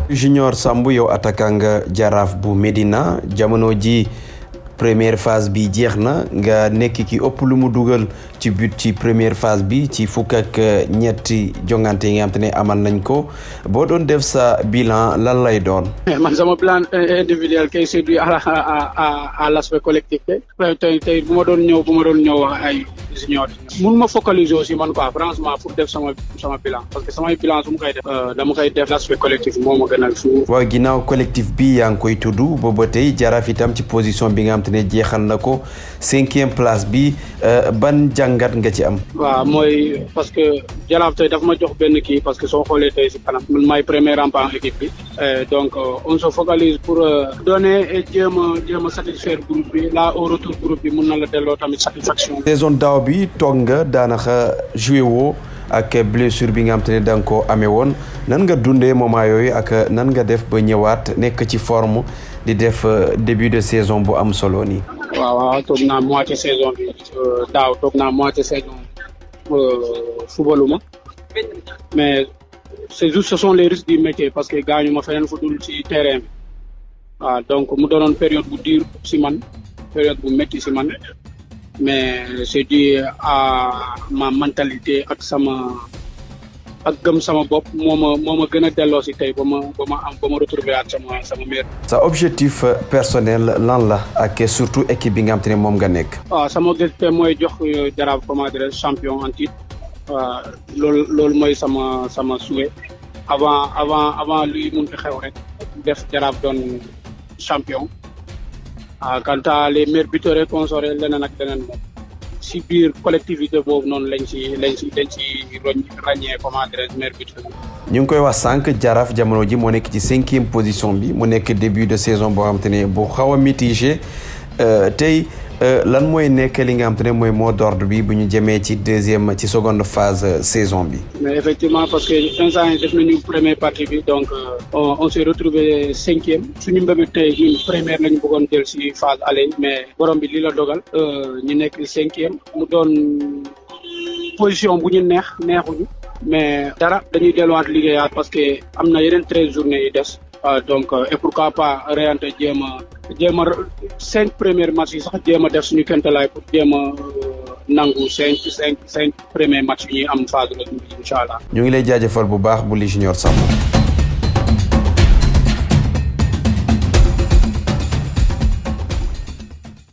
Junior Sambou yow attaquant nga Jaraaf bu Médina jamono ji première phase bi jeex na nga nekk ki ëpp lu mu dugal ci but ci première phase bi ci fukk ak ñetti jongante yi nga xam te ne amal nañ ko boo doon def sa bilan lan lay doon. man sama bilan individuel kay c'est dû à l'aspect collectif tey bu ma doon ñëw wax ay junior mun ma focaliser aussi man quoi franchement pour def sama bilan parce que samay bilan su ma koy def dama koy def l'aspect collectif moo ma gënal fu. waaw ginnaaw collectif bi yaa ngi koy tudd booba tey Jaraaf itam ci position bi nga xam te ne jeexal na ko 5e place bi ban jàngat nga ci am. waaw mooy parce que Jaraaf tey dafa ma jox benn kii parce que soo xoolee tey si kanam man maay premier rempart équipe bi donc on se focalise pour donner et jéem a satisfaire groupe bi là au retour groupe bi mun na la delloo tamit satisfaction. saison daaw bi toog nga daanaka joué woo ak blessure bi nga xam te ne da nga koo amee woon nan nga dundee moment yooyu ak nan nga def ba ñëwaat nekk ci forme di def début de saison bu am solo nii. waaw toog naa moitié saison bi daaw toog naa moitié saison footballuma mais c'est juste ce sont les risques du métier parce que gaañu ma feneen fu dul ci terrain bi waaw donc mu doonoon période bu dur ci man période bu métti ci man mais c'est dû à ma mentalité ak gëm sama bopp moo ma gën a delloo si tey ba ma retrouver at sama meilleur. sa objectif personnel lan la ak surtout équipe bi nga xam te ne moom nga nekk. waaw sama objectif mooy jox Jaraaf comment dire champion en titre waaw loolu mooy sama souhait avant luy mun fi xew rek def Jaraaf doon champion. quant à les meilleurs buteurs consorts leneen ak leneen moom si biir collectivité boobu noonu lañ ci ràññee comment dire meilleurs buteurs. ñu ngi koy wax sànq Jaraaf jamono ji moo nekk ci 5e position bi mu nekk début de saison boo xam te ne bu xaw a mitigé tey lan mooy nekk li nga xam te ne mooy mot d'ordre bi bu ñu jëmee ci seconde phase saison bi. mais effectivement parce que instant yi def nañu première partie bi donc on s'est retrouvé 5e suñu mbébét tey ñun première lañu bëggoon jël ci phase aller mais borom bi li la dogal ñu nekk 5e mu doon position bu ñu neexuñu mais dara dañuy delluwaat liggéeyaat parce que am na yeneen 13 journées yi des. donc et pourquoi pas réante jéem a 5 premiers matchs yi sax jéem a def suñu kéemtalaay pour jéem a nangu 5 premiers matchs yi ñuy am phase retour bi incha allah. ñu ngi lay jaajëfal bu baax Bouli Junior Sambou.